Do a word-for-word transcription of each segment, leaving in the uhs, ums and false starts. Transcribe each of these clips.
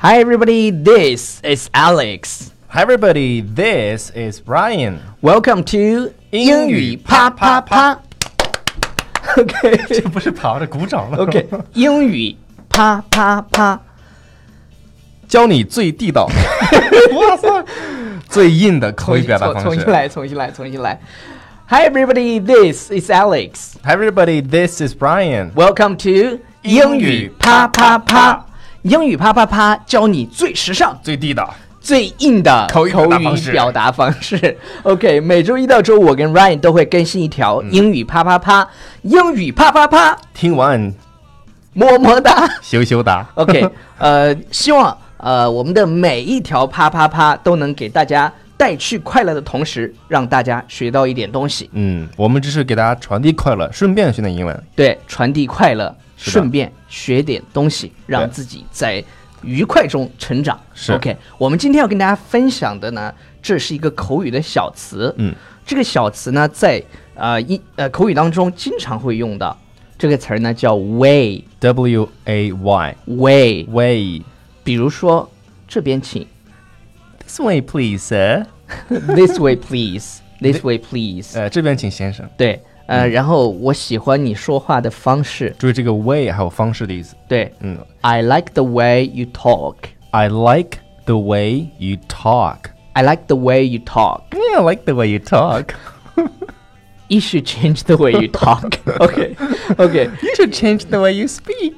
Hi everybody, this is Alex. Hi everybody, this is Brian. Welcome to 英语啪啪啪。OK， 这不是跑着鼓掌了 OK， 英语啪啪啪， 教你最地道，哇塞，最硬的口语表达方式。 重新来，重新来，重新来。Hi everybody, this is Alex. Hi everybody, this is Brian. Welcome to 英语啪啪啪。英语啪啪啪，教你最时尚、 最地道、 最硬的口语表达方式。 表达方式 OK， 每周一到周五，我跟 Ryan 都会更新一条英语啪啪啪。英语啪啪啪， 听完么么哒， 羞羞哒。 OK， 呃，希望呃我们的每一条啪啪啪都能给大家带去快乐的同时，让大家学到一点东西。 嗯，我们只是给大家传递快乐，顺便学点英文。 对，传递快乐，顺便学点东西，让自己在愉快中成长。 是 OK， 我们今天要跟大家分享的呢，这是一个口语的小词。 嗯，这个小词呢，在呃一呃口语当中经常会用到。这个词儿呢叫 way， W A Y way way。 比如说这边请 ，This way please, sir. This way please, this way please。 呃，这边请先生。 对，呃，嗯、然后我喜欢你说话的方式。 注意这个 way 还有方式的意思。 对， 嗯 ，I like the way you talk. I like the way you talk. I like the way you talk. Yeah, I like the way you talk. You should change the way you talk. OK, OK. You should change the way you speak.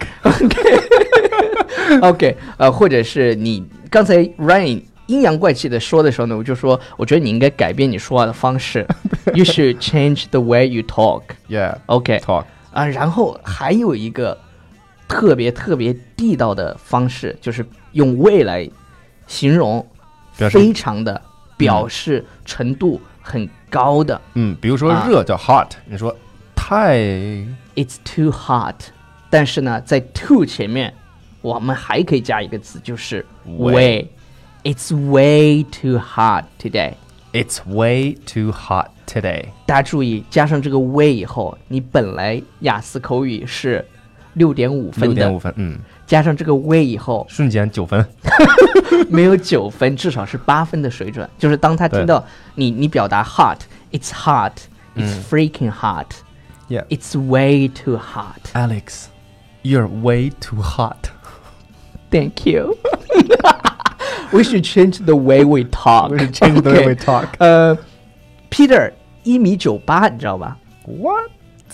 OK, OK. 呃，或者是你刚才 Ryan 阴阳怪气的说的时候呢，我就说，我觉得你应该改变你说话的方式。You should change the way you talk. Yeah. OK. Talk. 啊，然后还有一个特别特别地道的方式，就是用 way 来形容，非常的表示程度很高的。 嗯，比如说热叫 hot，、啊、你说太 It's too hot， 但是呢，在 too 前面，我们还可以加一个词，就是 way。It's way too hot today. It's way too hot today. 大家注意，加上这个 way 以后，你本来雅思口语是六点五分的， 六点五分，嗯， 加上这个 way 以后， 瞬间九分， 没有九分，至少是八分的水准。就是当他听到你你表达 hot，it's hot，it's、嗯、freaking hot，yeah， it's way too hot. Alex, you're way too hot. Thank you. We should change the way we talk. We should change the way we talk. 呃、uh, ，Peter 一米九八，你知道吧 ？What?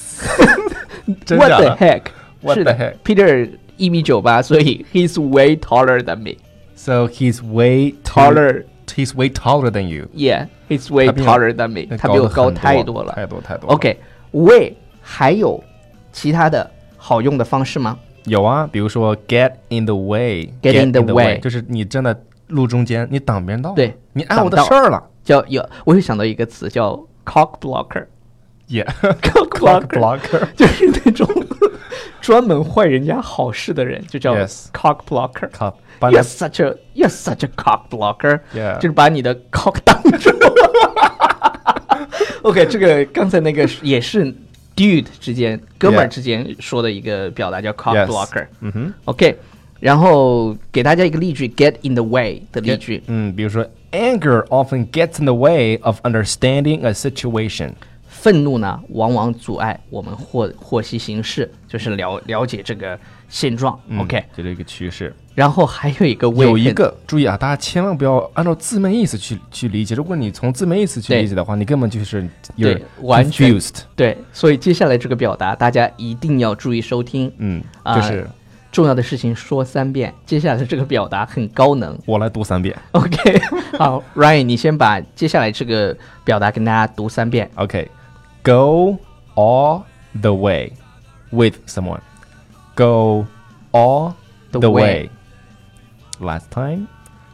What the heck? What the heck? Peter 一米九八，所以 he's way taller than me. So he's way taller. He's way taller than you. Yeah, he's way taller than me. 他比我高太多了， 太多太多。 OK, way 还有其他的好用的方式吗？ 有啊，比如说 get in the way. Get in the way， 就是你站在路中间，你挡别人道。 对， 你碍我的事儿了。 叫有，我又想到一个词叫 cock blocker。Yeah, cock blocker 就是那种专门坏人家好事的人，就叫 cock blocker。You're such a you're such a cock blocker。Yeah， 就是把你的 cock 挡住。OK， 这个刚才那个也是 dude 之间哥们儿之间说的一个表达叫 cock blocker。 嗯哼 ，OK。然后给大家一个例句 ，get in the way 的例句。 嗯，比如说 ，anger often gets in the way of understanding a situation。 愤怒呢，往往阻碍我们获获悉形势，就是了了解这个现状。 嗯、 OK， 这是一个趋势。 然后还有一个 way， 有一个注意啊，大家千万不要按照字面意思去去理解。如果你从字面意思去理解的话，你根本就是对完全 confused。 对，所以接下来这个表达大家一定要注意收听。 嗯，就是。 呃重要的事情说三遍，接下来的这个表达很高能， 我来读三遍。 OK， 好 ，Ryan， 你先把接下来这个表达跟大家读三遍。 OK，Go all the way with someone. Go all the way. Last time,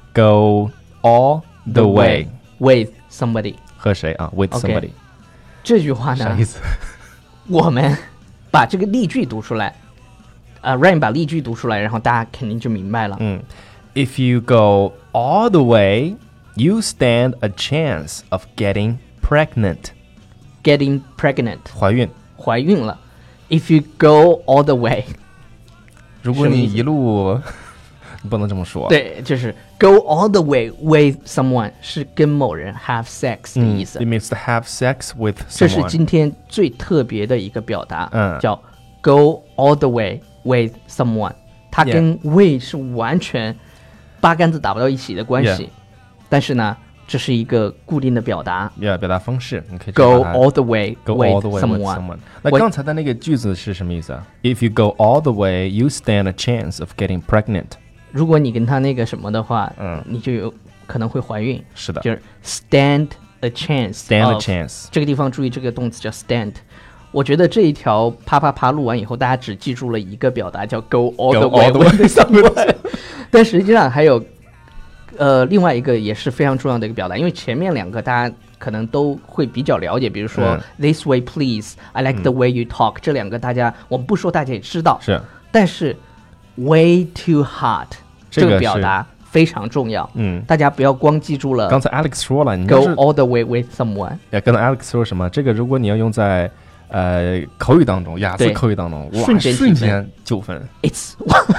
go all the way with somebody. 和谁啊 ？With somebody. 这句话呢？ 啥意思？ 我们把这个例句读出来。呃、uh, Ryan 把例句读出来，然后大家肯定就明白了。 嗯 ，If you go all the way, you stand a chance of getting pregnant. Getting pregnant. 怀孕。 怀孕了。If you go all the way. 如果你一路你不能这么说。 对，就是 go all the way with someone 是跟某人 have sex 的意思。 嗯、it means to have sex with someone。 这是今天最特别的一个表达， 嗯， 叫 go all the way with someone。它跟 with 是完全八竿子打不到一起的关系， yeah. 但是呢，这是一个固定的表达。 yeah, 表达方式，你可以 go all the way go with all the way someone. with someone。那刚才的那个句子是什么意思啊 ？If you go all the way, you stand a chance of getting pregnant。 如果你跟他那个什么的话， 嗯， 你就有可能会怀孕。 是的， 就是 stand a chance。 stand a chance。 这个地方注意这个动词叫 stand。我觉得这一条啪啪啪录完以后，大家只记住了一个表达叫 go all the way with someone， 但实际上还有呃另外一个也是非常重要的一个表达，因为前面两个大家可能都会比较了解，比如说、嗯、this way please I like the way you talk、嗯、这两个大家我们不说大家也知道， 是， 但是 way too hot 这个表达非常重要， 嗯， 大家不要光记住了。 刚才 Alex 说了，你 go all the way with someone。 呀，刚才 Alex 说什么？这个如果你要用在呃口语当中，雅思口语当中，哇， 瞬间瞬间九分。 It's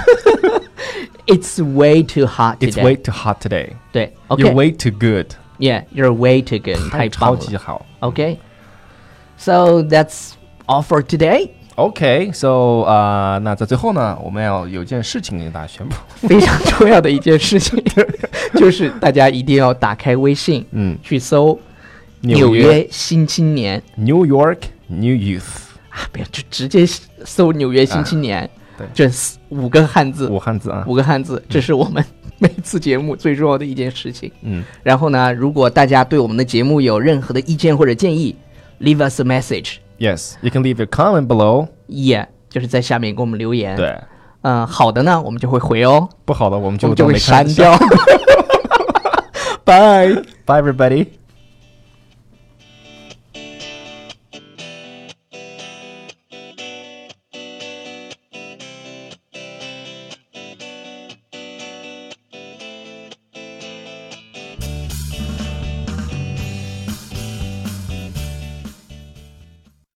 it's way too hot today. It's way too hot today. 对 ，OK。 You're way too good. Yeah, you're way too good. 太棒了， 超级好。 OK. So that's all for today.OK, so 啊、uh, ，那在最后呢，我们要有件事情跟大家宣布， 非常重要的一件事情，就是大家一定要打开微信， 嗯， 去搜纽约新青年 New York New Youth 啊，不要就直接搜纽约新青年，啊、 对， 这五个汉字， 五汉字啊， 五个汉字，这是我们每次节目最重要的一件事情。 嗯， 然后呢，如果大家对我们的节目有任何的意见或者建议 ，leave us a message。Yes, you can leave your comment below. Yeah, 就是在下面给我们留言。 对， 嗯，好的呢，我们就会回哦； 不好的，我们就我们就会删掉。Bye, bye, everybody.